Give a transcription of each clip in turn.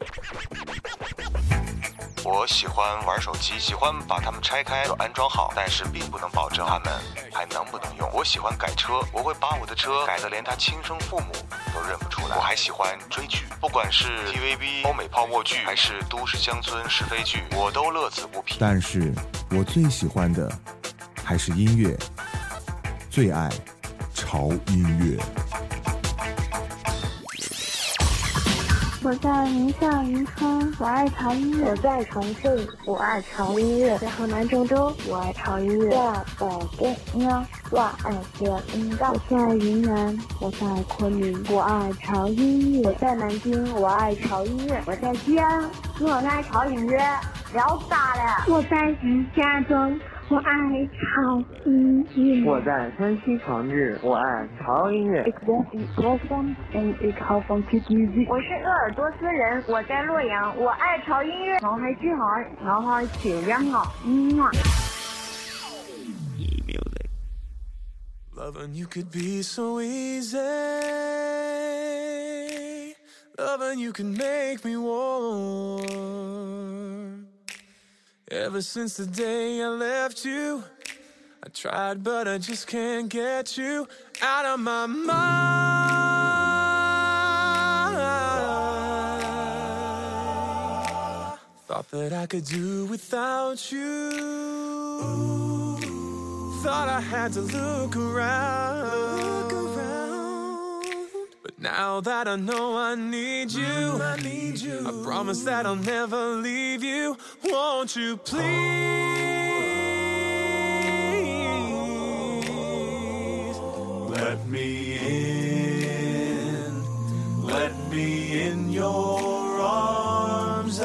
我喜欢玩手机，喜欢把它们拆开又安装好，但是并不能保证它们还能不能用。我喜欢改车，我会把我的车改得连他亲生父母都认不出来。我还喜欢追剧，不管是 TVB 欧美泡沫剧还是都市乡村是非剧，我都乐此不疲。 但是我最喜欢的还是音乐，最爱潮音乐。 我在宁夏渔村，我爱潮音乐； 我在重庆，我爱潮音乐； 在河南郑州，我爱潮音乐； 在北京，我爱潮音乐； 我在云南，我在昆明，我爱潮音乐； 我在南京，我爱潮音乐； 我在西安，我爱潮音乐。聊大了！ 我在石家庄，我爱潮音乐。 我在山西长治，我爱潮音乐。 我是鄂尔多斯人，我在洛阳，我爱潮音乐。 我喺珠海，我愛潮音樂。 Loving you could be so easy. Loving you can make me warm. Ever since the day I left you, I tried but I just can't get you out of my mind. Thought that I could do without you. Thought I had to look around. But now that I know I need you, I promise that I'll never leave you. Won't you please let me in? Let me in your arms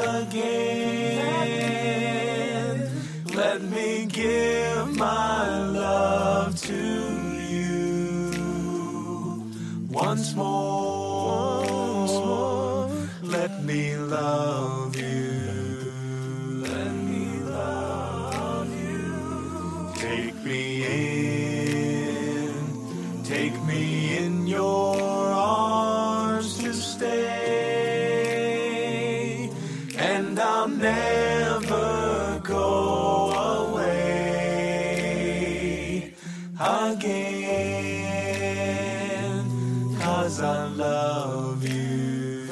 again. Let me give my love to you once more. Let me love you. Let me love you. Take me in your arms to stay, and I'll never go away again, 'cause I love you.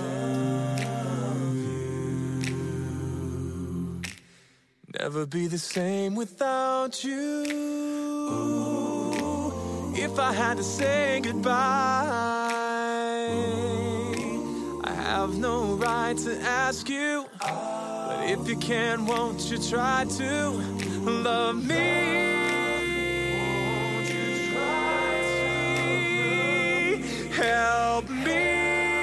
Never be the same without you. If I had to say goodbye, I have no right to ask you. But if you can, won't you try to love me? Help me.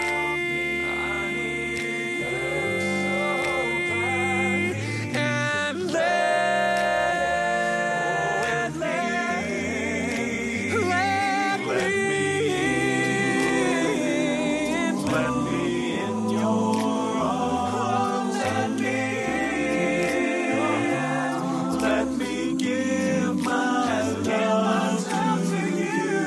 And let me in your arms. Let me give my love to you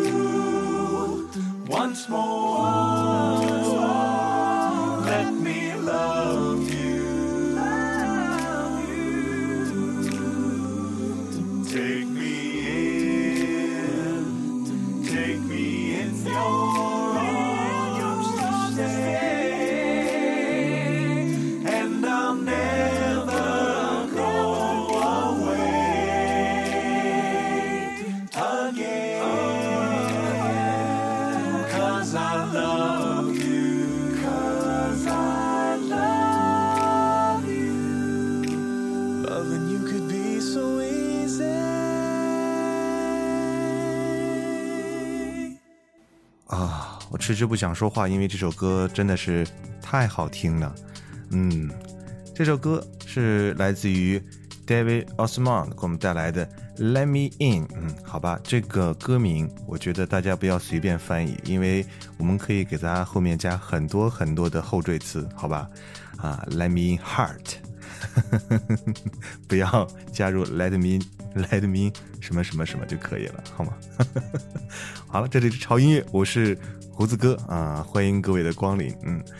once more. Let me love you. Take me in your arms to stay, and I'll never go away again, 'cause I love you. 'Cause I love you. Loving you could be so easy. 啊，我迟迟不想说话，因为这首歌真的是太好听了。这首歌是来自于 David Osmond 给我们带来的 Let Me In。好吧，这个歌名我觉得大家不要随便翻译，因为我们可以给它后面加很多很多的后缀词，好吧？Let Me In Heart 不要加入 Let Me什么什么什么就可以了，好吗？好了，这里是潮音乐，我是胡子哥啊，欢迎各位的光临。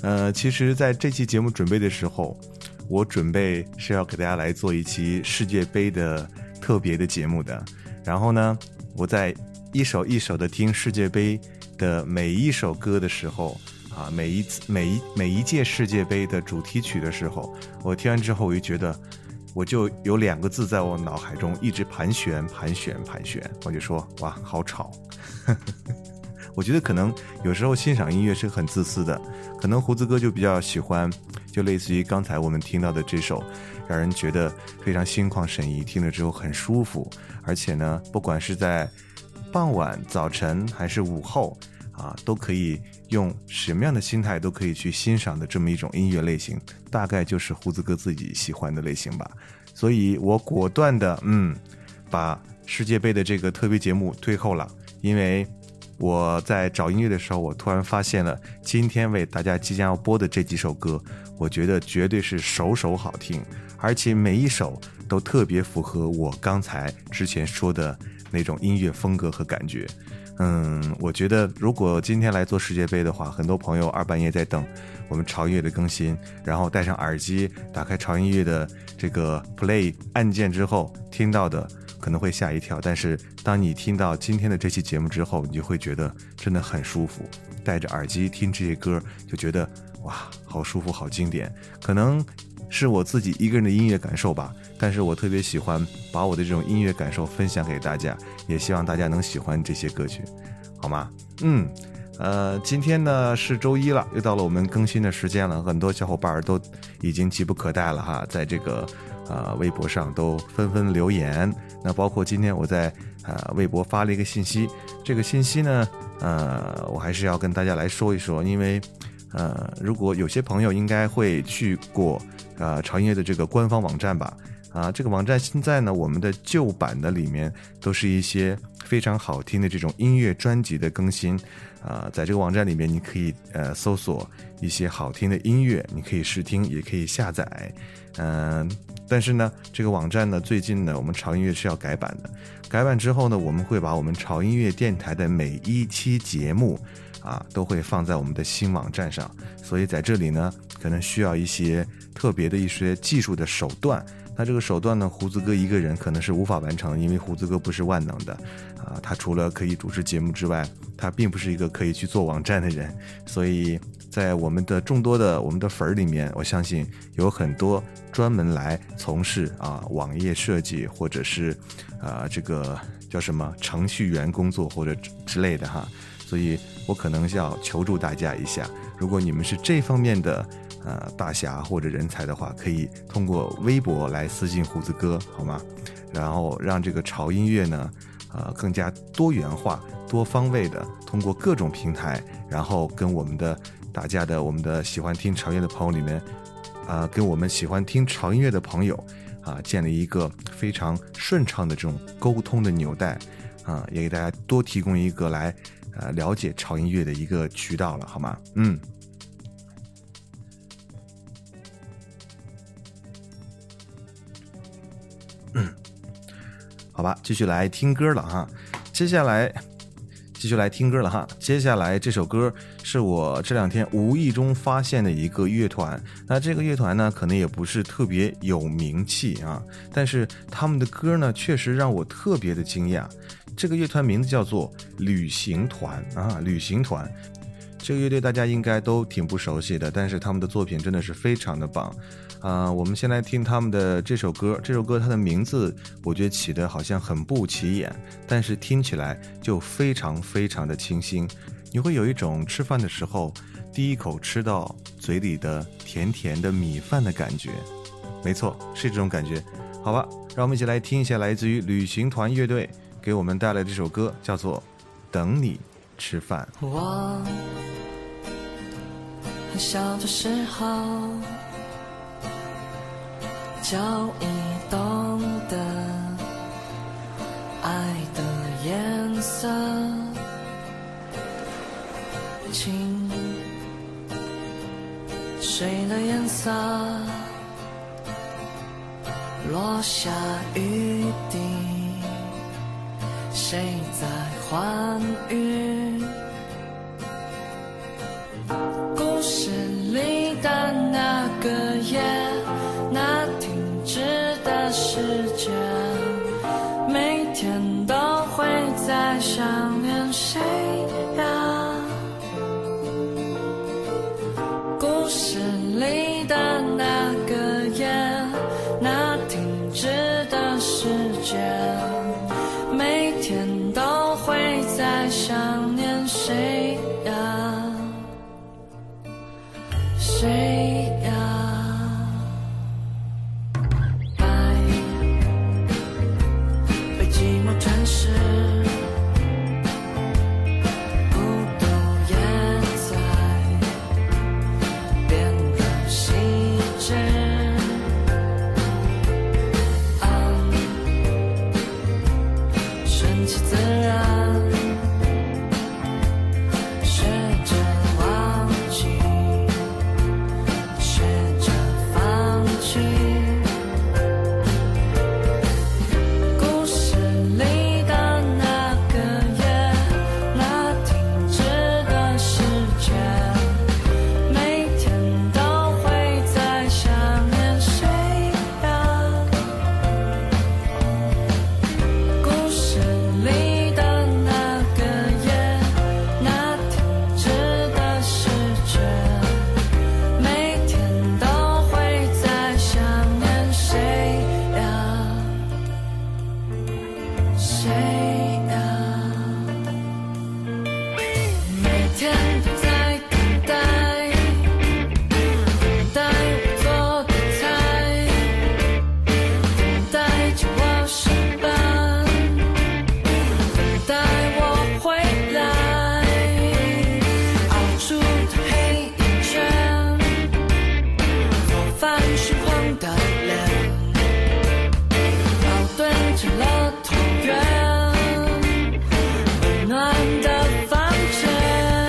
其实在这期节目准备的时候，我准备是要给大家来做一期世界杯的特别的节目的。然后呢，我在一首一首的听世界杯的每一首歌的时候啊，每一届世界杯的主题曲的时候，我听完之后我就觉得，我就有2个字在我脑海中一直盘旋，我就说哇，好吵。我觉得可能有时候欣赏音乐是很自私的，可能胡子哥就比较喜欢，就类似于刚才我们听到的这首，让人觉得非常心旷神怡，听了之后很舒服，而且呢，不管是在傍晚、早晨还是午后啊，都可以用什么样的心态都可以去欣赏的这么一种音乐类型，大概就是胡子哥自己喜欢的类型吧。所以我果断的把世界杯的这个特别节目推后了，因为我在找音乐的时候，我突然发现了今天为大家即将要播的这几首歌，我觉得绝对是首首好听，而且每一首都特别符合我刚才之前说的那种音乐风格和感觉。我觉得如果今天来做世界杯的话，很多朋友2半夜在等我们潮音乐的更新，然后戴上耳机打开潮音乐的这个 play 按键之后听到的可能会吓一跳，但是当你听到今天的这期节目之后，你就会觉得真的很舒服，戴着耳机听这些歌就觉得哇，好舒服，好经典。可能是我自己一个人的音乐感受吧，但是我特别喜欢把我的这种音乐感受分享给大家，也希望大家能喜欢这些歌曲，好吗？今天呢是周一了，又到了我们更新的时间了，很多小伙伴都已经急不可待了哈，在这个微博上都纷纷留言。那包括今天我在微博发了一个信息，这个信息呢我还是要跟大家来说一说，因为如果有些朋友应该会去过潮音乐的这个官方网站吧，这个网站现在呢，我们的旧版的里面都是一些非常好听的这种音乐专辑的更新，在这个网站里面你可以搜索一些好听的音乐，你可以试听也可以下载。但是呢，这个网站呢，最近呢，我们潮音乐是要改版的。改版之后呢，我们会把我们潮音乐电台的每一期节目都会放在我们的新网站上，所以在这里呢，可能需要一些特别的一些技术的手段。那这个手段呢，胡子哥一个人可能是无法完成，因为胡子哥不是万能的他除了可以主持节目之外，他并不是一个可以去做网站的人。所以在我们的众多的我们的粉儿里面，我相信有很多专门来从事网页设计，或者是这个叫什么程序员工作或者之类的哈。所以我可能要求助大家一下，如果你们是这方面的大侠或者人才的话，可以通过微博来私信胡子哥，好吗？然后让这个潮音乐呢更加多元化、多方位的通过各种平台，然后跟我们的喜欢听潮音乐的朋友里面跟我们喜欢听潮音乐的朋友建立一个非常顺畅的这种沟通的纽带也给大家多提供一个来了解潮音乐的一个渠道了，好吗？好吧，继续来听歌了哈。接下来这首歌是我这2天无意中发现的一个乐团。那这个乐团呢，可能也不是特别有名气但是他们的歌呢，确实让我特别的惊讶。这个乐团名字叫做旅行团旅行团。这个乐队大家应该都挺不熟悉的，但是他们的作品真的是非常的棒。我们先来听他们的这首歌。这首歌它的名字我觉得起得好像很不起眼，但是听起来就非常非常的清新，你会有一种吃饭的时候第一口吃到嘴里的甜甜的米饭的感觉。没错，是这种感觉。好吧，让我们一起来听一下来自于旅行团乐队给我们带来的这首歌，叫做等你吃饭。 我很小的时候就已懂得爱的颜色，清水的颜色，落下雨滴，谁在欢愉？故事里想念谁呀？故事里的那个夜，那停止的时间，每天都会在想念谁呀？谁呀？白被寂寞吞噬，孤独也在变得细致。顺其自然，学着忘记，学着放弃。故事里的那个夜，那停止的时间，每天都会在想念谁呀？故事里的那个夜，那停止的时间，每天都会在想念谁呀？谁呀？每天都在等待，等待我做的菜，等待着我上班，等待我回来，熬出的黑眼圈，做饭虚晃的脸，矛盾成了同源，温暖的房间。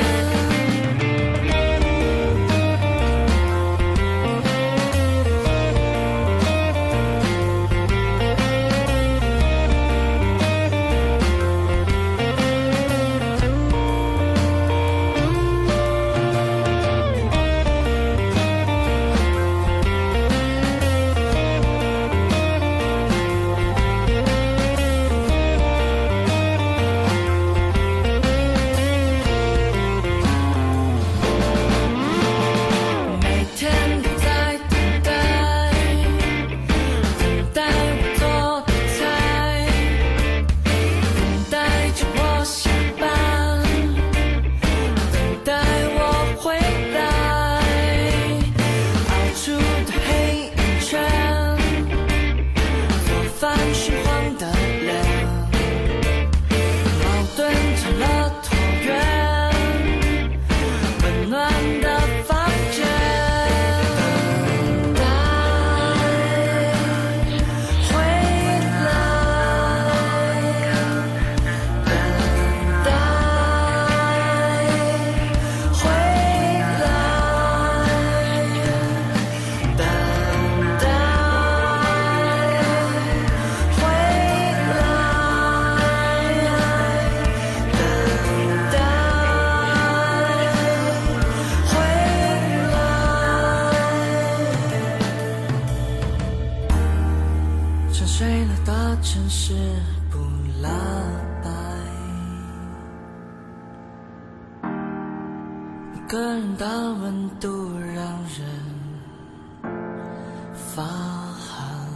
每天都在等待，等待我做的菜，等待着我下班，等待我回来，熬出的黑眼圈，做饭虚晃的脸，矛盾成了椭圆，温暖的房间。等待回来，等待回来，等待回沉睡了的城市不拉白，一个人的温度让人发寒。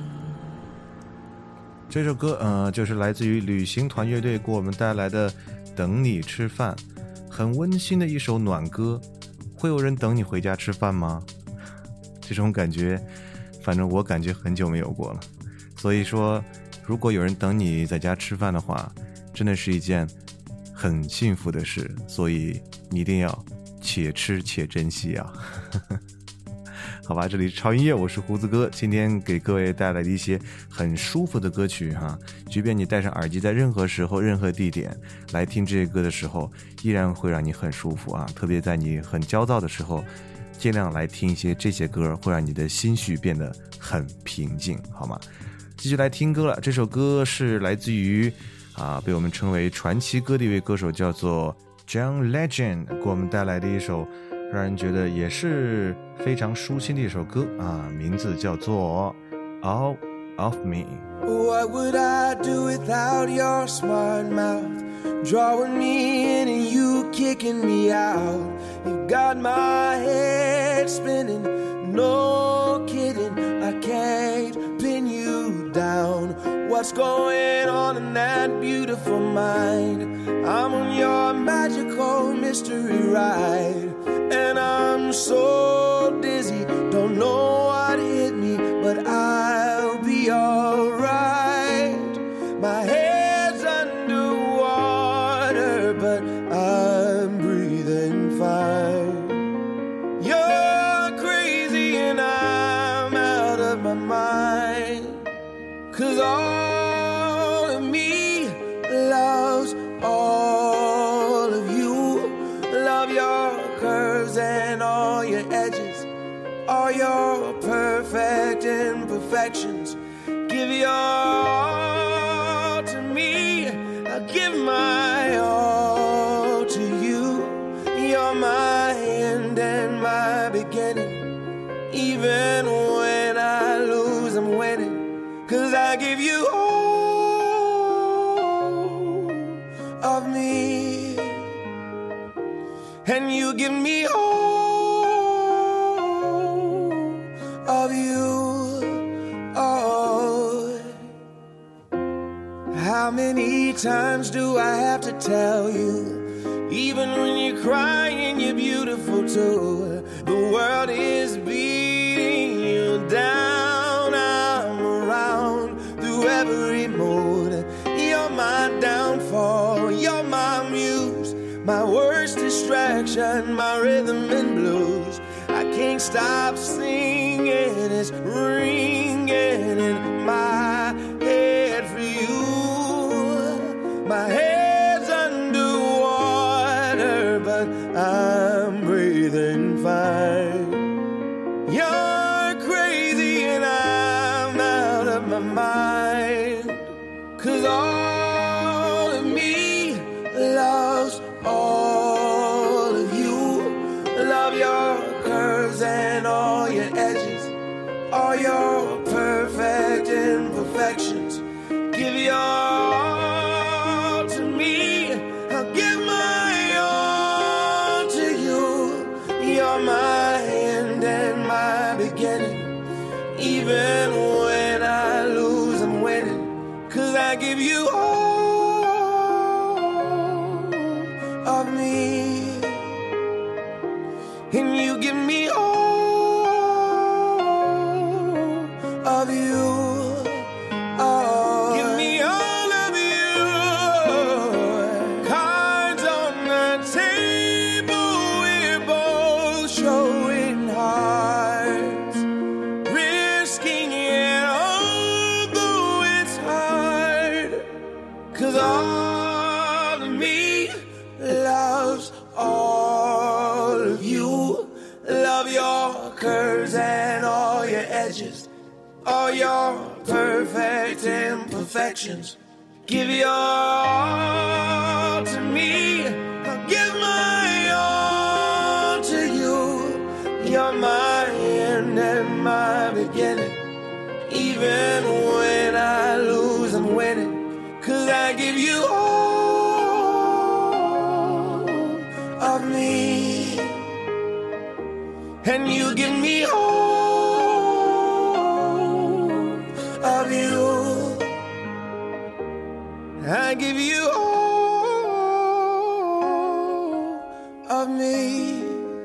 这首歌就是来自于旅行团乐队给我们带来的《等你吃饭》，很温馨的一首暖歌。会有人等你回家吃饭吗？这种感觉反正我感觉很久没有过了。所以说如果有人等你在家吃饭的话，真的是一件很幸福的事，所以你一定要且吃且珍惜啊。好吧，这里是超音乐，我是胡子哥，今天给各位带来的一些很舒服的歌曲哈，即便你戴上耳机，在任何时候任何地点来听这些歌的时候，依然会让你很舒服啊，特别在你很焦躁的时候，尽量来听一些这些歌，会让你的心绪变得很平静，好吗？继续来听歌了，这首歌是来自于被我们称为传奇歌的一位歌手，叫做 John Legend， 给我们带来的一首让人觉得也是非常舒心的一首歌名字叫做 All of Me。 What would I do without your smart mouth? drawing me in and you kicking me out. You got my head spinning, no kidding, I can't pin you down. What's going on in that beautiful mind? I'm on your magical mystery ride, and I'm so dizzy, don't know what hit me, but I'll be alright. My head's underwater, but I'm breathing fine. You're crazy and I'm out of my mind, 'cause all of me loves all of you. Love your curves and all your edges, all your perfect imperfections. Give your all to me, I'll give my all to you. You're my end and my beginning. Even when I lose, I'm winning, 'cause I give you all of me, and you give me all of you. Oh, how many times do I have to tell you? Even when you're crying, you're beautiful too. The world is beating you down. I'm around through every mood. You're my downfall, you're my muse, my worst distraction, my rhythm and blues. I can't stop singing, it's ringing in my head for you. My head's underwater, but I'm breathing fine. You're crazy and I'm out of my mind, 'cause all of me loves all of you. Love your curves and all your edges, all your perfect imperfections. Give your all to me, I'll give my all to you. You're my end and my beginning. Even when I lose, I'm winning, 'cause I give you all of me, and you give me all of you. Oh, give me all of you. Cards on the table, we're both showing hearts, risking it although it's hard, 'cause all of me loves all of you. Love your curves and all your edges, all your perfect imperfections. Give your all to me, I'll give my all to you. You're my end and my beginning. Even when I lose, I'm winning, 'cause I give you all of me, and you give me all of you. I give you all of me,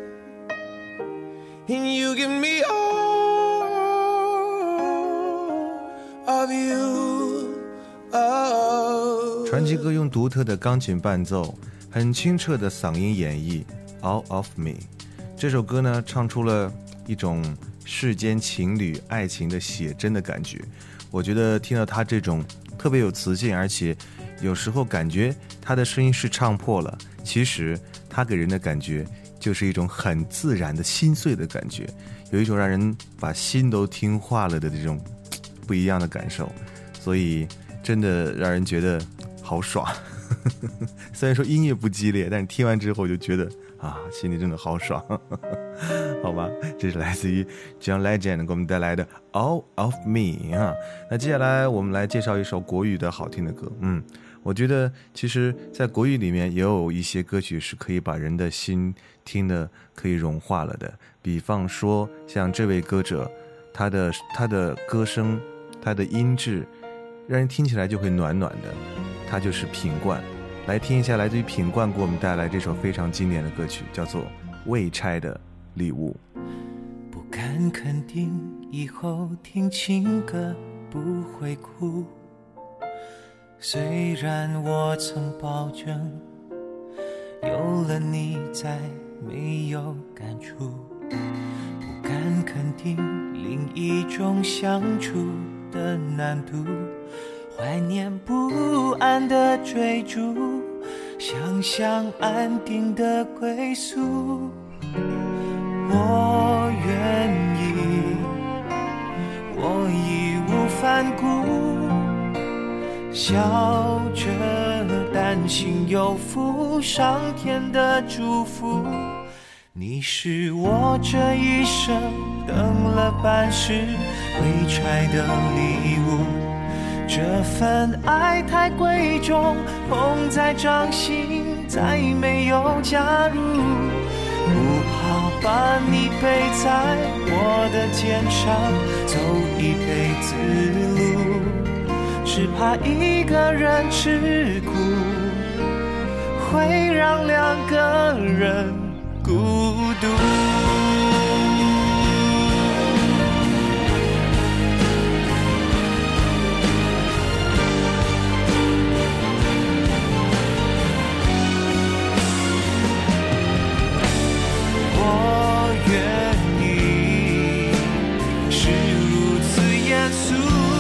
and you give me all of you. Oh. 传奇哥用独特的钢琴伴奏，很清澈的嗓音演绎 All of Me 这首歌呢，唱出了一种世间情侣爱情的写真的感觉。我觉得听到他这种特别有磁性，而且有时候感觉他的声音是唱破了，其实他给人的感觉就是一种很自然的心碎的感觉，有一种让人把心都听化了的这种不一样的感受，所以真的让人觉得好爽。虽然说音乐不激烈，但是听完之后就觉得啊，心里真的好爽。好吧，这是来自于 John Legend 给我们带来的 All of Me 啊。那接下来我们来介绍一首国语的好听的歌。我我觉得其实在国语里面也有一些歌曲是可以把人的心听得可以融化了的，比方说像这位歌者，他的歌声，他的音质让人听起来就会暖暖的，他就是品冠。来听一下来自于品冠给我们带来这首非常经典的歌曲，叫做《未拆的礼物》。 不敢肯定以后听情歌不会哭，虽然我曾保证有了你再没有感触，不敢肯定另一种相处的难度，怀念不安的追逐，想象安定的归宿。我愿意，我义无反顾，笑着担心有负上天的祝福。你是我这一生等了半世未拆的礼物，这份爱太贵重，捧在掌心再没有加入，不怕把你背在我的肩上走一辈子路，只怕一个人吃苦会让两个人孤独。我愿意是如此严肃，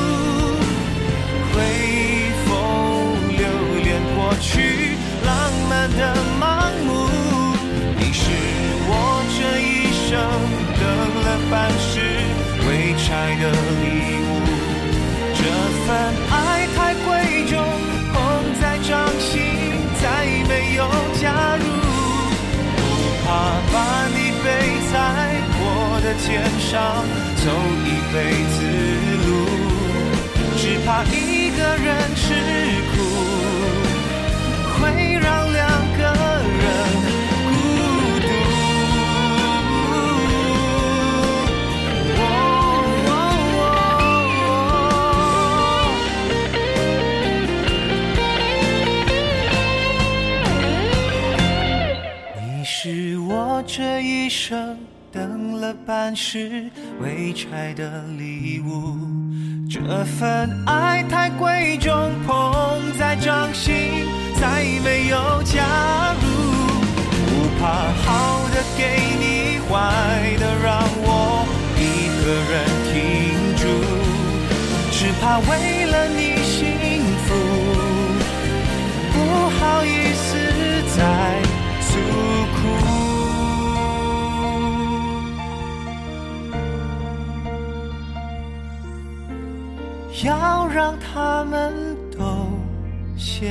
会否留恋过去浪漫的盲目？你是我这一生等了半世未拆的礼物，这份爱太贵重，捧在掌心再没有加入，不怕把你背在我的肩上走一辈子路，只怕一个人吃苦会让两个人是我这一生等了半世未拆的礼物，这份爱太贵重，捧在掌心再没有加入，不怕好的给你，坏的让我一个人挺住，只怕为了你幸福不好意思再诉苦。要让他们都羡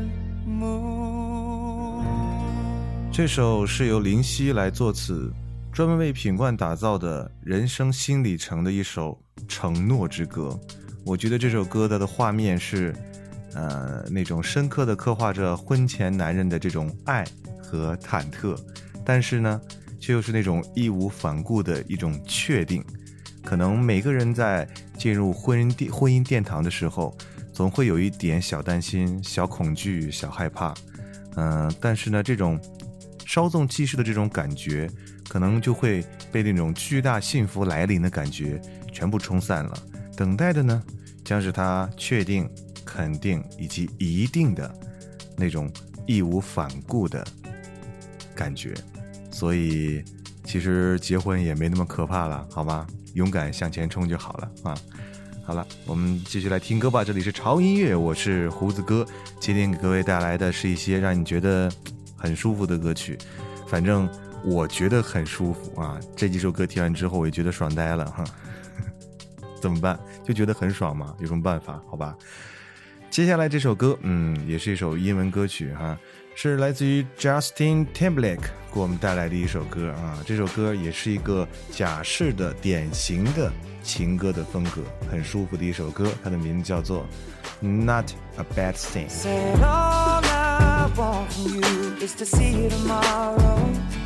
慕。 这首是由林夕来作词，专门为品冠打造的人生新里程的一首承诺之歌。我觉得这首歌的画面是那种深刻的刻画着婚前男人的这种爱和忐忑，但是呢却又是那种义无反顾的一种确定。可能每个人在进入婚姻殿堂的时候，总会有一点小担心、小恐惧、小害怕，但是呢这种稍纵即逝的这种感觉，可能就会被那种巨大幸福来临的感觉全部冲散了。等待的呢将是他确定、肯定以及一定的那种义无反顾的感觉。所以其实结婚也没那么可怕了，好吗？勇敢向前冲就好了啊！好了，我们继续来听歌吧。这里是潮音乐，我是胡子哥。今天给各位带来的是一些让你觉得很舒服的歌曲，反正我觉得很舒服啊。这几首歌听完之后，我也觉得爽呆了哈。怎么办？就觉得很爽嘛，有什么办法？好吧。接下来这首歌，也是一首英文歌曲哈， 是来自于 Justin Timberlake 给我们带来的一首歌啊。这首歌也是一个假式的典型的情歌的风格，很舒服的一首歌，它的名字叫做 Not a Bad Thing。 Said all I want from you is to see you tomorrow,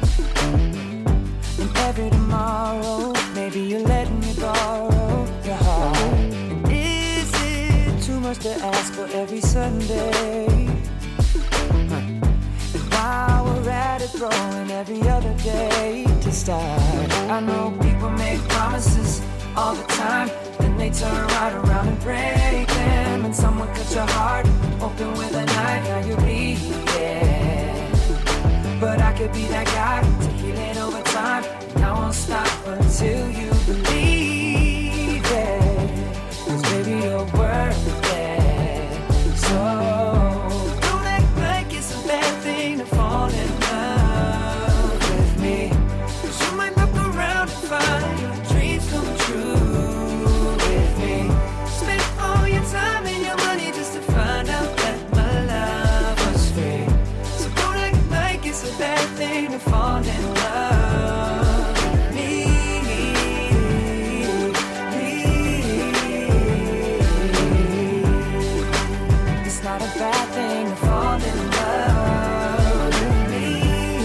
and every tomorrow maybe you're letting me borrow your heart. And is it too much to ask for every Sunday? And while we're at it, throwing every other day to start. I know people make promises all the time, then they turn right around and break them. And someone cut your heart open with a knife, now you're bleeding. But I could be that guy to heal it over time, and I won't stop until you believe it. 'Cause baby you're worth it. So don't act like it's a bad thing to fall in love with me, 'cause you might look around and find your dreams come true with me. Spend all your time and your money just to find out that my love was free. So don't act like it's a bad thing to fall in love with me. It's not a bad thing to fall in love with me.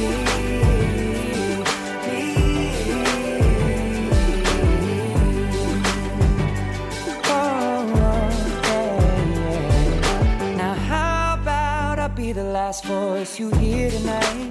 Now how about I be the last voice you hear tonight,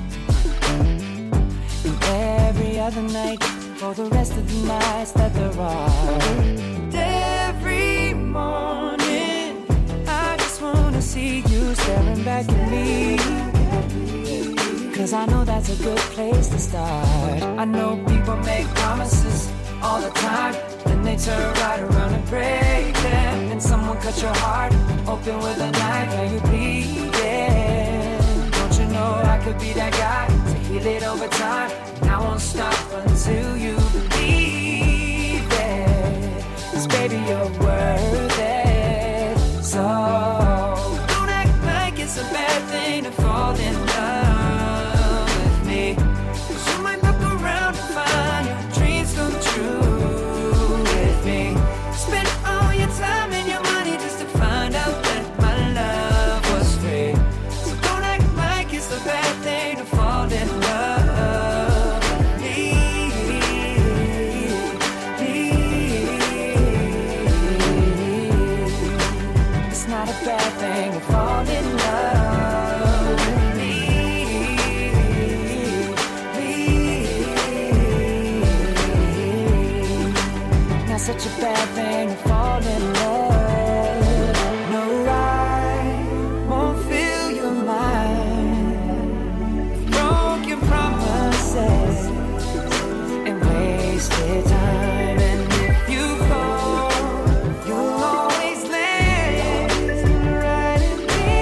and every other night for the rest of the nights that there are. And every morning I just wanna see you staring back at me, 'cause I know that's a good place to start. I know people make promises all the time, then they turn right around and break them. And someone cut your heart open with a knife, now you're bleeding. Don't you know I could be that guy to heal it over time, and I won't stop until you believe it. 'Cause baby you're worth it. So don't act like it's a bad thing to fall in love with me, 'cause you might look around and find your dreams come true with me. Spend all your time and your money just to find out that my love was free. So don't act like it's a bad thing to fall in love with me. It's not a bad thing to fall in love with me. Not such a bad thing to fall in love. No, I won't fill your mind with broken promises and wasted time. And if you fall, you'll always land right in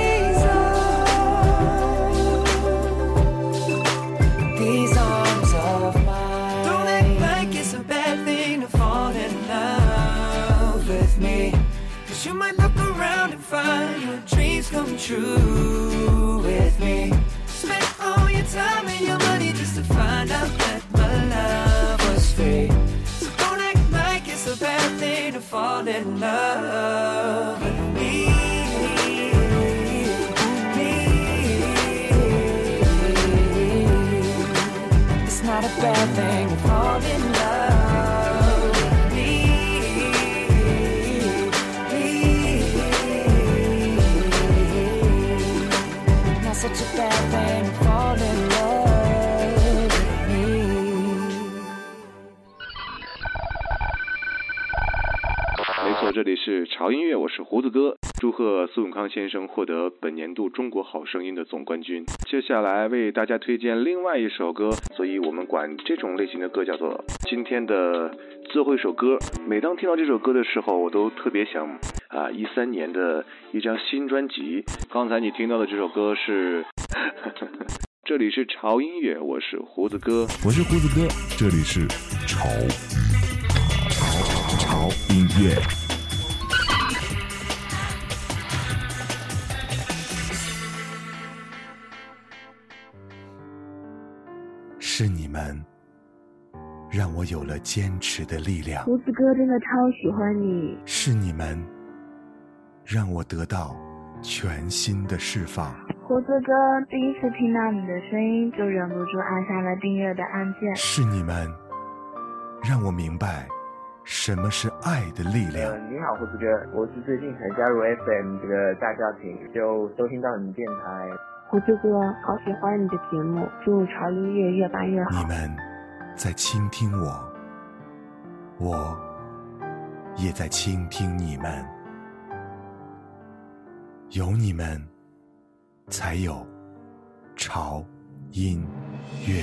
these arms of mine. Don't act like it's a bad thing to fall in love with me, 'cause you might look around and find your dreams come true with me. Spend all your time and your money just to find out that my love was free. So don't act like it's a bad thing to fall in love with me. It's not a bad thing to fall in love with me. Not such a bad thing to fall in love with me. 没错，这里是潮音乐，我是胡子哥。祝贺苏永康先生获得本年度中国好声音的总冠军。接下来为大家推荐另外一首歌，所以我们管这种类型的歌叫做今天的最后一首歌。每当听到这首歌的时候，我都特别想13年的一张新专辑。刚才你听到的这首歌是这里是潮音乐，我是胡子哥， 我是胡子哥，这里是潮音乐。 有了坚持的力量。 胡子哥真的超喜欢你， 是你们让我得到全新的释放。 胡子哥第一次听到你的声音就忍不住按下了订阅的按键。 是你们让我明白什么是爱的力量。 你好，胡子哥，我是最近才加入 FM 这个大家庭，就收听到你电台。 胡子哥，好喜欢你的节目，祝潮音乐越办越好。 你们在倾听我，我也在倾听你们。有你们，才有潮音乐。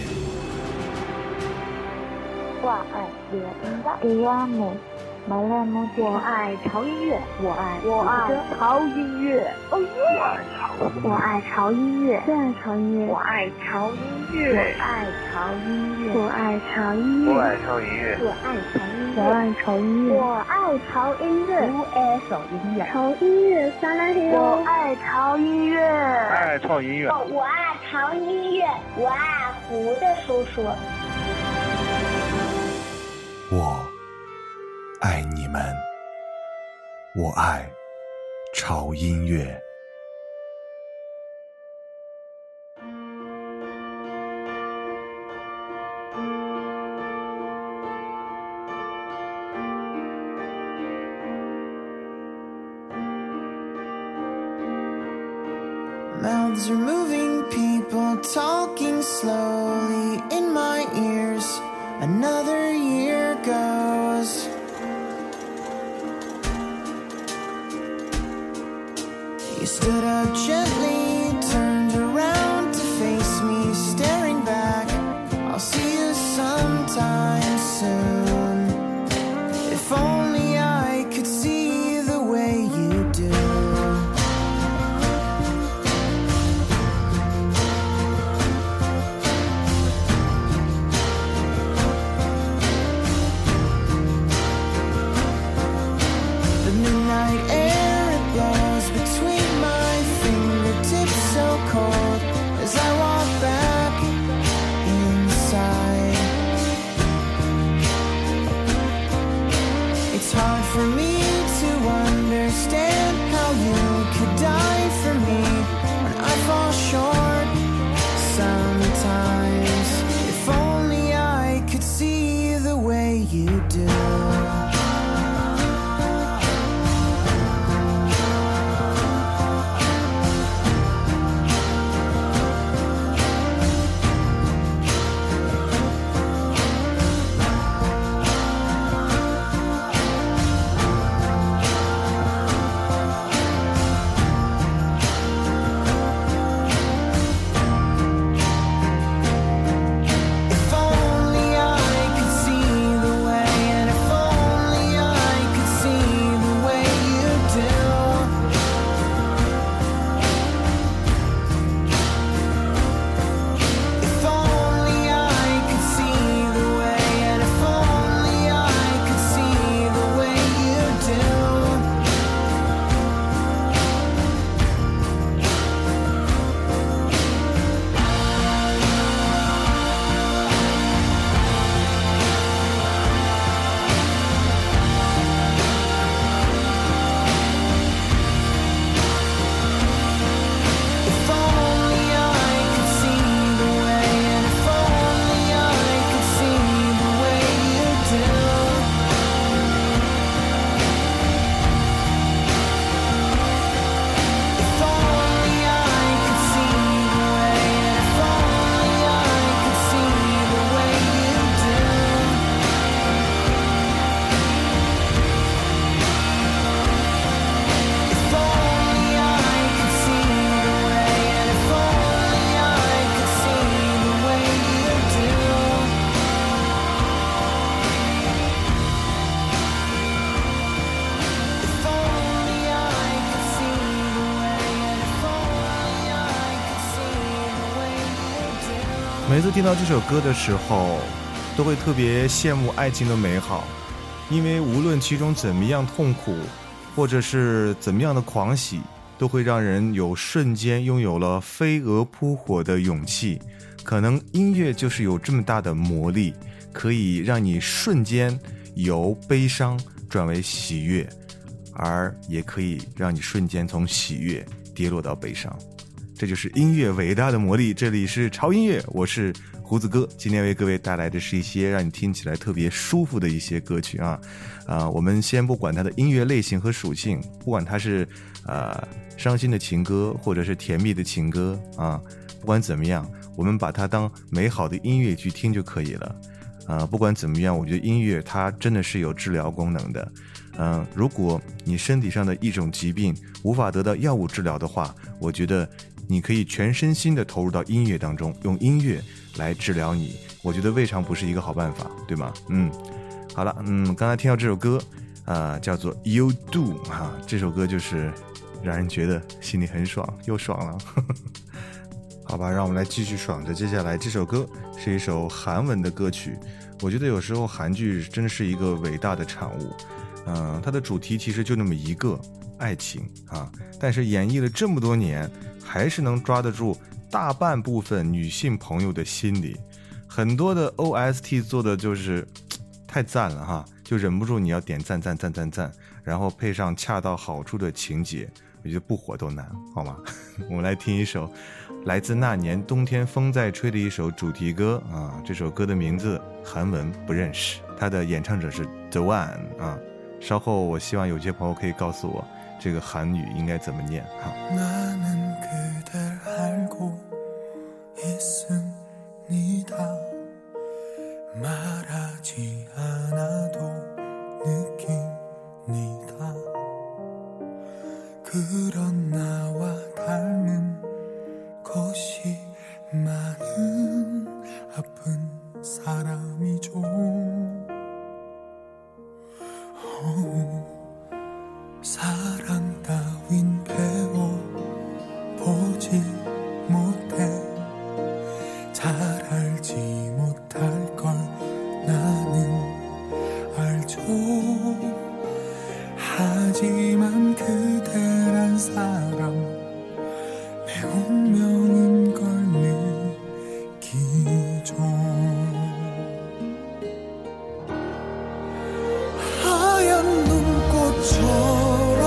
我爱音乐，我爱潮音乐，我爱潮音乐，哦耶！ 我爱潮音乐，最爱潮音乐， 我爱潮音乐， 我爱潮音乐， 我爱潮音乐， 我爱潮音乐， 我爱潮音乐， 我爱潮音乐， 我爱潮音乐， 潮音乐撒拉嘿我爱潮音乐， 爱潮音乐， 我爱潮音乐，我爱胡子叔叔。 我爱你们，我爱潮音乐。 Mouths are moving, people talking slowly in my ears. Another year goes. You stood up gently, turned around to face me, staring back. I'll see you sometime soon. If only I could see the way you do. Midnight air, it blows between my fingertips, so cold as I walk back inside. It's hard for me to understand how you could die for me when I fall short sometimes. If only I could see the way you do. If 每次听到这首歌的时候，都会特别羡慕爱情的美好，因为无论其中怎么样痛苦，或者是怎么样的狂喜，都会让人有瞬间拥有了飞蛾扑火的勇气。可能音乐就是有这么大的魔力， 可以让你瞬间由悲伤转为喜悦，而也可以让你瞬间从喜悦跌落到悲伤。这就是音乐伟大的魔力。这里是潮音乐，我是胡子哥，今天为各位带来的是一些让你听起来特别舒服的一些歌曲啊。我们先不管它的音乐类型和属性，不管它是伤心的情歌或者是甜蜜的情歌啊，不管怎么样，我们把它当美好的音乐去听就可以了。不管怎么样，我觉得音乐它真的是有治疗功能的。如果你身体上的一种疾病无法得到药物治疗的话，我觉得你可以全身心的投入到音乐当中，用音乐来治疗你，我觉得未尝不是一个好办法，对吗？好了，刚才听到这首歌叫做 You Do 这首歌就是让人觉得心里很爽，又爽了好吧，让我们来继续爽着。接下来这首歌是一首韩文的歌曲，我觉得有时候韩剧真的是一个伟大的产物。它的主题其实就那么一个爱情但是演绎了这么多年，还是能抓得住大半部分女性朋友的心理。很多的 OST 做的就是太赞了就忍不住你要点赞，然后配上恰到好处的情节，我觉得不火都难，好吗？我们来听一首来自那年冬天风在吹的一首主题歌这首歌的名字韩文不认识，它的演唱者是 The One稍后我希望有些朋友可以告诉我这个韩语应该怎么念 나는 그댈 알고 있습니다. 말하지 않아도 느낍니다. 그런 나와 닮은 것이 많은 아픈 사람이죠. 사랑 따윈 배워보지 못해 잘 알지 못할 걸 나는 알죠. 하지만 그대란 사람 내 운명인 걸 느끼죠. 하얀 눈꽃처럼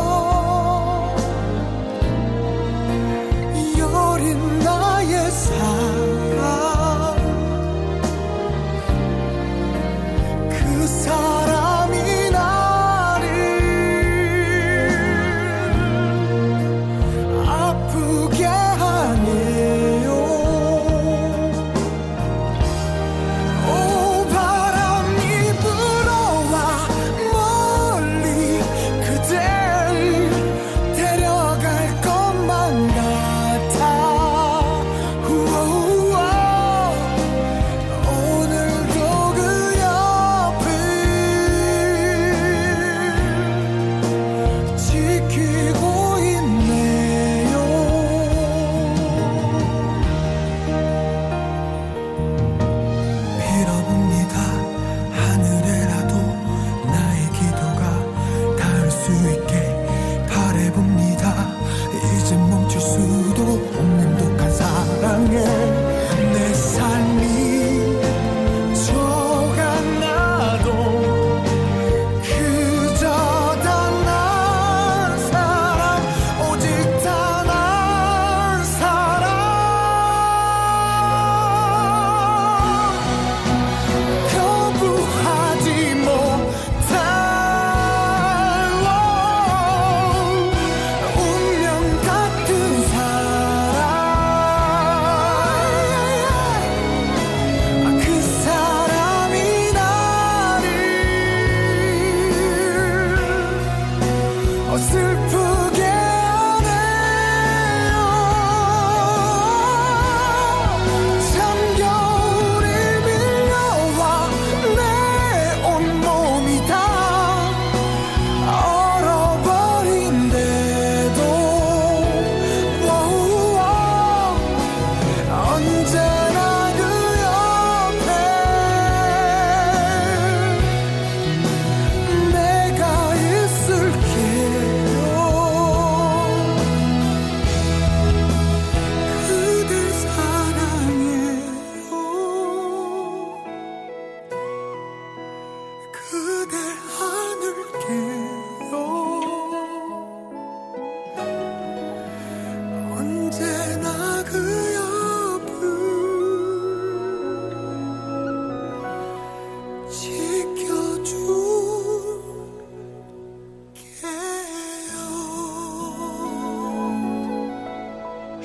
여린 나의 사랑, 그 사람이 나를 아프게 하네요. 오 바람이 불어와 멀리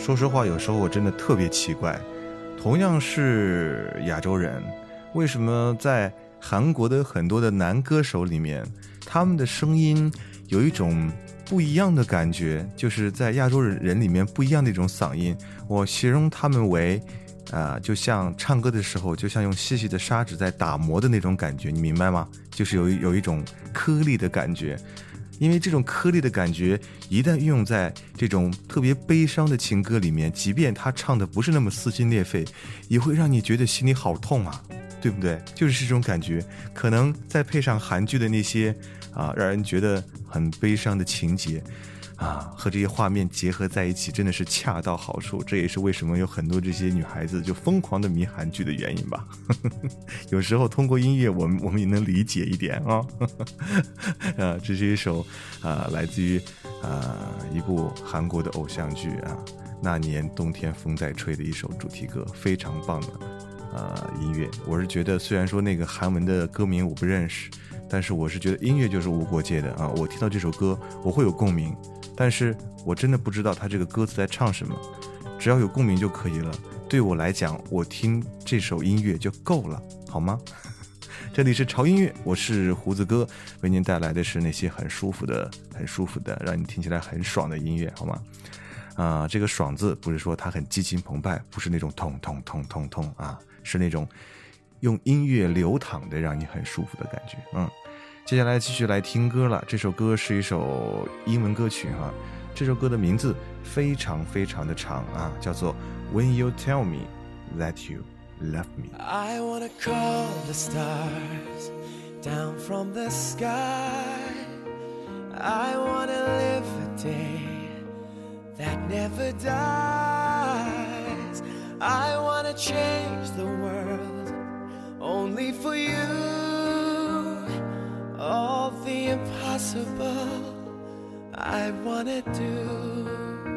说实话，有时候我真的特别奇怪，同样是亚洲人，为什么在韩国的很多的男歌手里面，他们的声音有一种不一样的感觉，就是在亚洲人里面不一样的一种嗓音。我形容他们为就像唱歌的时候，就像用细细的砂纸在打磨的那种感觉，你明白吗？就是有一种颗粒的感觉。因为这种颗粒的感觉一旦运用在这种特别悲伤的情歌里面，即便他唱的不是那么撕心裂肺，也会让你觉得心里好痛啊，对不对？就是这种感觉。可能再配上韩剧的那些让人觉得很悲伤的情节和这些画面结合在一起，真的是恰到好处。这也是为什么有很多这些女孩子就疯狂的迷韩剧的原因吧。有时候通过音乐我们也能理解一点这是一首来自于一部韩国的偶像剧那年冬天风在吹的一首主题歌，非常棒的音乐。我是觉得虽然说那个韩文的歌名我不认识，但是我是觉得音乐就是无国界的我听到这首歌我会有共鸣，但是我真的不知道他这个歌词在唱什么，只要有共鸣就可以了。对我来讲，我听这首音乐就够了，好吗？这里是潮音乐，我是胡子哥，为您带来的是那些很舒服的让你听起来很爽的音乐，好吗？这个爽字不是说它很激情澎湃，不是那种痛痛痛痛痛是那种用音乐流淌的让你很舒服的感觉。接下来继续来听歌了。这首歌是一首英文歌曲这首歌的名字非常非常的长叫做 When You Tell Me That You Love Me。 I wanna call the stars down from the sky. I wanna live a day that never dies. I wanna change the world only for you. All the impossible I wanna do.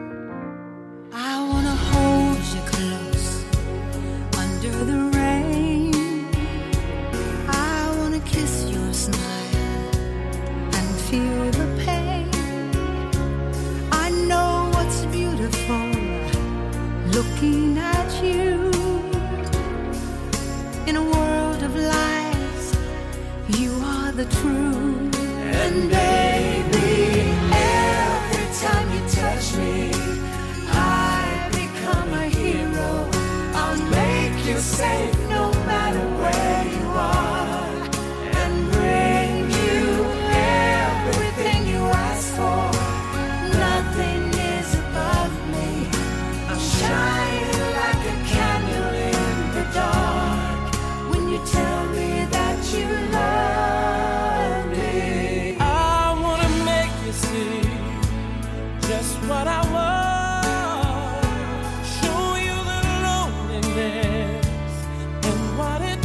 I wanna hold you close under the rain. I wanna kiss your smile and feel the pain. I know what's beautiful looking at you. In a world of lies, you are the truth. And baby, every time you touch me, I become a hero. I'll make you safe no matter where you are, and bring you everything you ask for. Nothing is above me. I'll shine like a candle in the dark when you tell me that you love me. I wanna make you see just what I want. Show you the loneliness and what it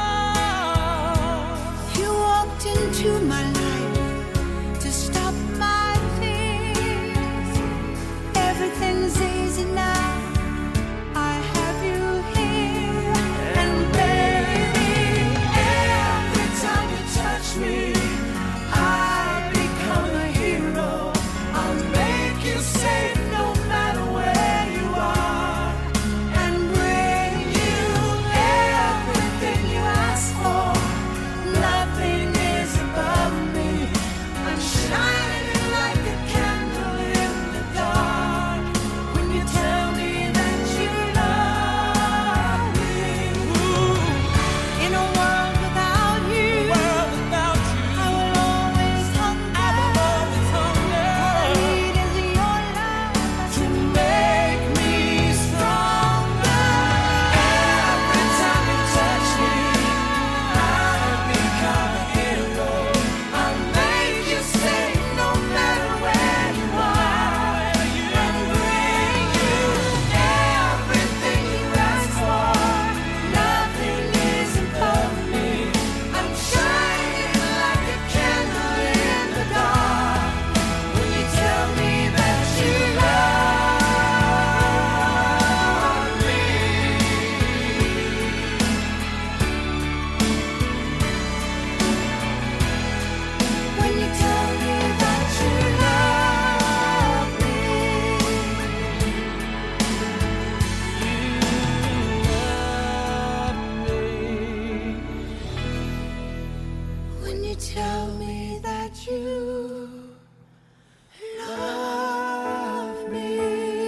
does. You walked into my life to stop my fears. Everything's easy now. I have you here. And baby, every time you touch me, I become a hero. I'll make you safe no matter where you are, and bring you everything you ask for. Nothing is above you tell me that you love me?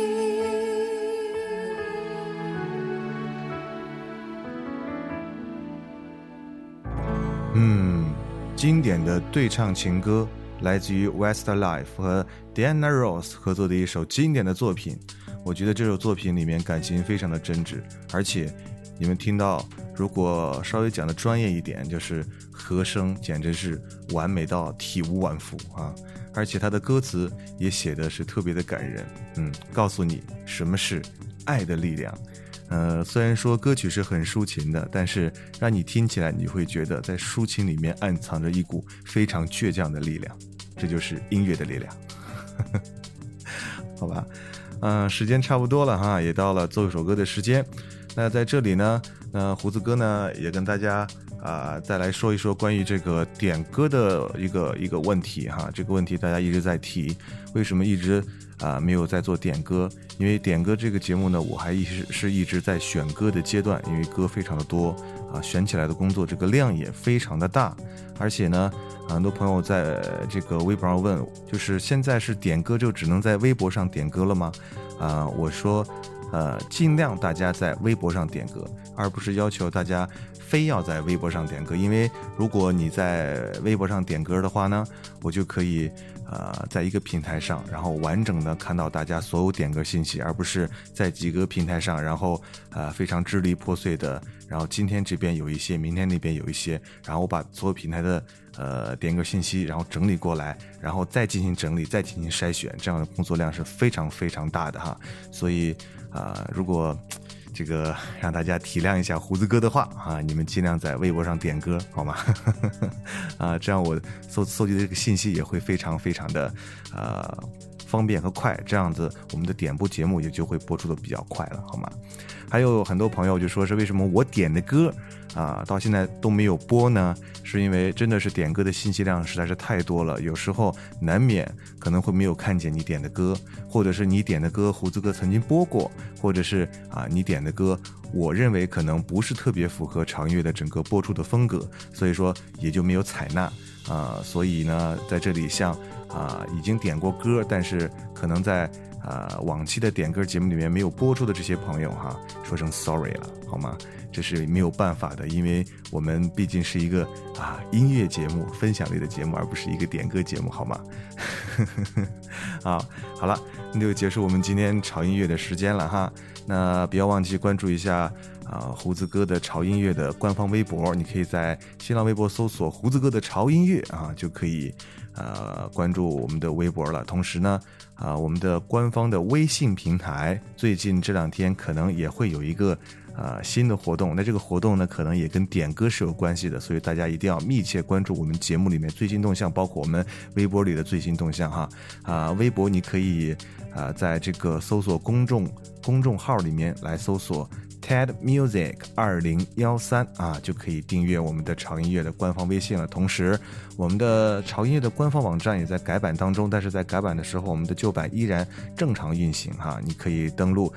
经典的对唱情歌，来自于 Westlife 和 Diana Ross 合作的一首经典的作品。我觉得这首作品里面感情非常的真挚，而且你们听到，如果稍微讲的专业一点，就是和声简直是完美到体无完肤啊！而且它的歌词也写的是特别的感人，告诉你什么是爱的力量。虽然说歌曲是很抒情的，但是让你听起来你会觉得在抒情里面暗藏着一股非常倔强的力量，这就是音乐的力量。好吧，时间差不多了哈，也到了奏一首歌的时间。那在这里呢，胡子哥呢也跟大家再来说一说关于这个点歌的一个问题哈。这个问题大家一直在提，为什么一直没有在做点歌？因为点歌这个节目呢，我还一直在选歌的阶段，因为歌非常的多选起来的工作这个量也非常的大，而且呢，很多朋友在这个微博上问，就是现在是点歌就只能在微博上点歌了吗？我说尽量大家在微博上点歌，而不是要求大家非要在微博上点歌，因为如果你在微博上点歌的话呢，我就可以在一个平台上，然后完整的看到大家所有点歌信息，而不是在几个平台上，然后非常支离破碎的，然后今天这边有一些，明天那边有一些，然后我把所有平台的点歌信息然后整理过来，然后再进行整理，再进行筛选，这样的工作量是非常非常大的哈。所以如果这个让大家体谅一下胡子哥的话你们尽量在微博上点歌好吗？这样我搜集的这个信息也会非常非常的方便和快，这样子我们的点播节目也就会播出的比较快了好吗？还有很多朋友就说是为什么我点的歌到现在都没有播呢？是因为真的是点歌的信息量实在是太多了，有时候难免可能会没有看见你点的歌，或者是你点的歌胡子哥曾经播过，或者是你点的歌我认为可能不是特别符合长乐的整个播出的风格，所以说也就没有采纳所以呢在这里像已经点过歌但是可能在往期的点歌节目里面没有播出的这些朋友说声 sorry 了好吗？这是没有办法的，因为我们毕竟是一个音乐节目，分享类的节目，而不是一个点歌节目好吗？好了，那就结束我们今天潮音乐的时间了哈。那不要忘记关注一下胡子哥的潮音乐的官方微博，你可以在新浪微博搜索胡子哥的潮音乐就可以关注我们的微博了。同时呢我们的官方的微信平台最近这2天可能也会有一个新的活动，那这个活动呢可能也跟点歌是有关系的，所以大家一定要密切关注我们节目里面最新动向，包括我们微博里的最新动向微博你可以在这个搜索公众号里面来搜索 TED Music 2013就可以订阅我们的潮音乐的官方微信了。同时我们的潮音乐的官方网站也在改版当中，但是在改版的时候我们的旧版依然正常运行你可以登录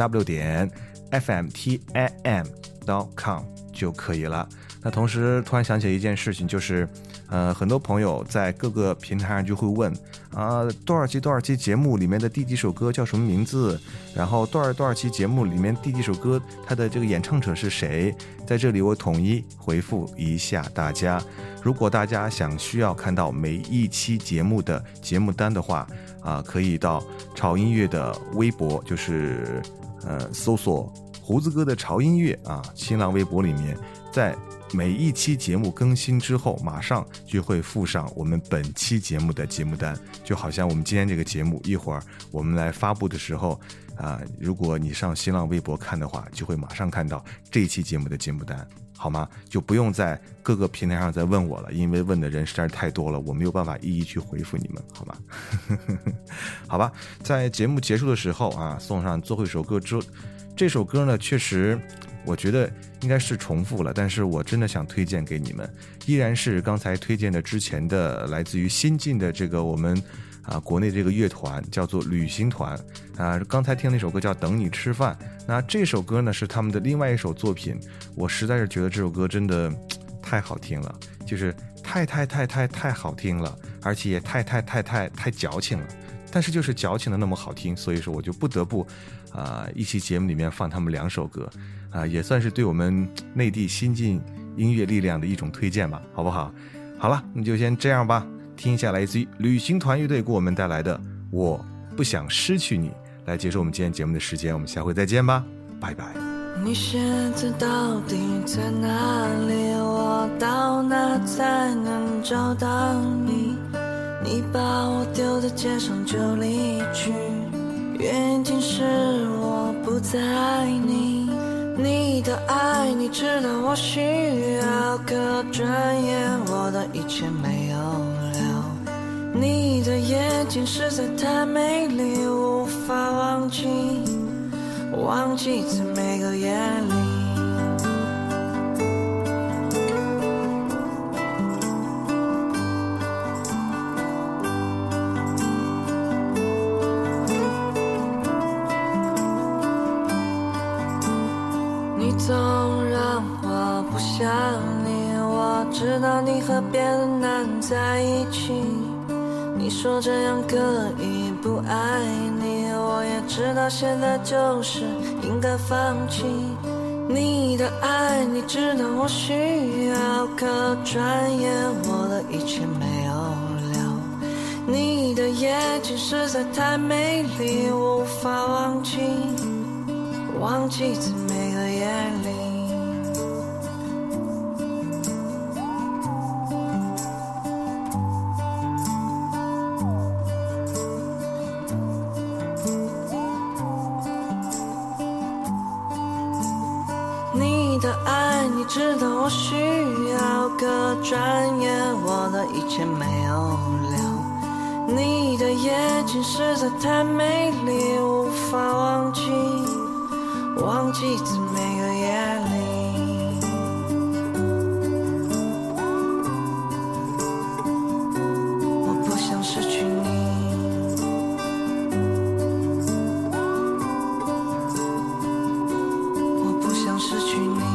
3w.fmtam.com 就可以了。那同时突然想起一件事情，就是很多朋友在各个平台上就会问多少期节目里面的第几首歌叫什么名字，然后多少期节目里面第几首歌它的这个演唱者是谁。在这里我统一回复一下大家，如果大家需要看到每一期节目的节目单的话可以到潮音乐的微博，就是搜索胡子哥的潮音乐新浪微博里面，在每一期节目更新之后马上就会附上我们本期节目的节目单，就好像我们今天这个节目一会儿我们来发布的时候如果你上新浪微博看的话，就会马上看到这一期节目的节目单好吗？就不用在各个平台上再问我了，因为问的人实在是太多了，我没有办法一一去回复你们好吗？好吧，在节目结束的时候送上最后一首歌这首歌呢确实我觉得应该是重复了，但是我真的想推荐给你们，依然是刚才推荐的之前的来自于新晋的这个我们国内这个乐团叫做旅行团刚才听那首歌叫等你吃饭，那这首歌呢是他们的另外一首作品，我实在是觉得这首歌真的太好听了，就是太好听了，而且也太矫情了。但是就是矫情的那么好听，所以说我就不得不一期节目里面放他们2首歌也算是对我们内地新晋音乐力量的一种推荐吧，好不好？好了，那就先这样吧，听一下来自于旅行团乐队给我们带来的我不想失去你，来结束我们今天节目的时间，我们下回再见吧，拜拜。 你现在到底在哪里？我到哪才能找到你？你把我丢在街上就离去，原因是我不在意你的爱，你知道我需要，可转眼我的一切没有了。你的眼睛实在太美丽，无法忘记在每个夜里。你总让我不想你，我知道你和别的男在一起，你说这样可以不爱你，我也知道现在就是应该放弃你的爱，你知道我需要，可转眼我的一切没有了。你的眼睛实在太美丽，无法忘记在每个夜里。你的爱，你知道我需要，可转眼我的一切没有了。你的眼睛实在太美丽，无法忘记在每个夜里。我不想失去你，我不想失去你，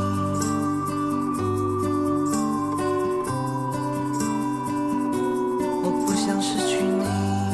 我不想失去你。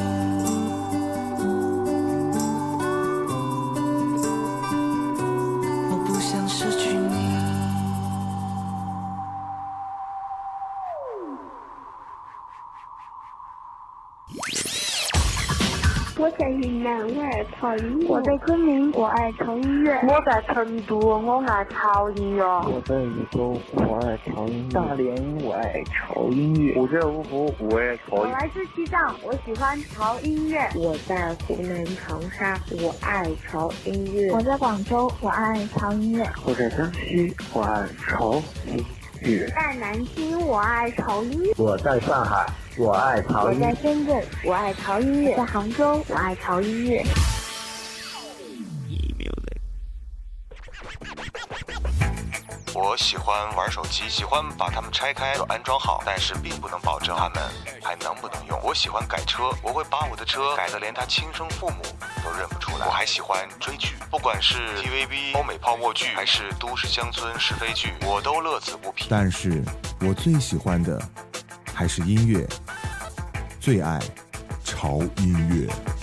我在云南，我爱潮音乐； 我在昆明，我爱潮音乐； 我在成都，我爱潮音乐； 我在禹州，我爱潮音乐；大连，我爱潮音乐；我在芜湖，我爱潮音乐； 我来自西藏，我喜欢潮音乐； 我在湖南长沙，我爱潮音乐； 我在广州，我爱潮音乐； 我在江西，我爱潮音乐； 在南京，我爱潮音乐； 我在上海，我爱潮音乐； 我在深圳，我爱潮音乐； 在杭州，我爱潮音乐。 我喜欢玩手机，喜欢把它们拆开又安装好，但是并不能保证它们还能不能用。我喜欢改车，我会把我的车改得连他亲生父母都认不出来。我还喜欢追剧，不管是 TVB 欧美泡沫剧还是都市乡村是非剧，我都乐此不疲。 但是我最喜欢的还是音乐，最爱潮音乐。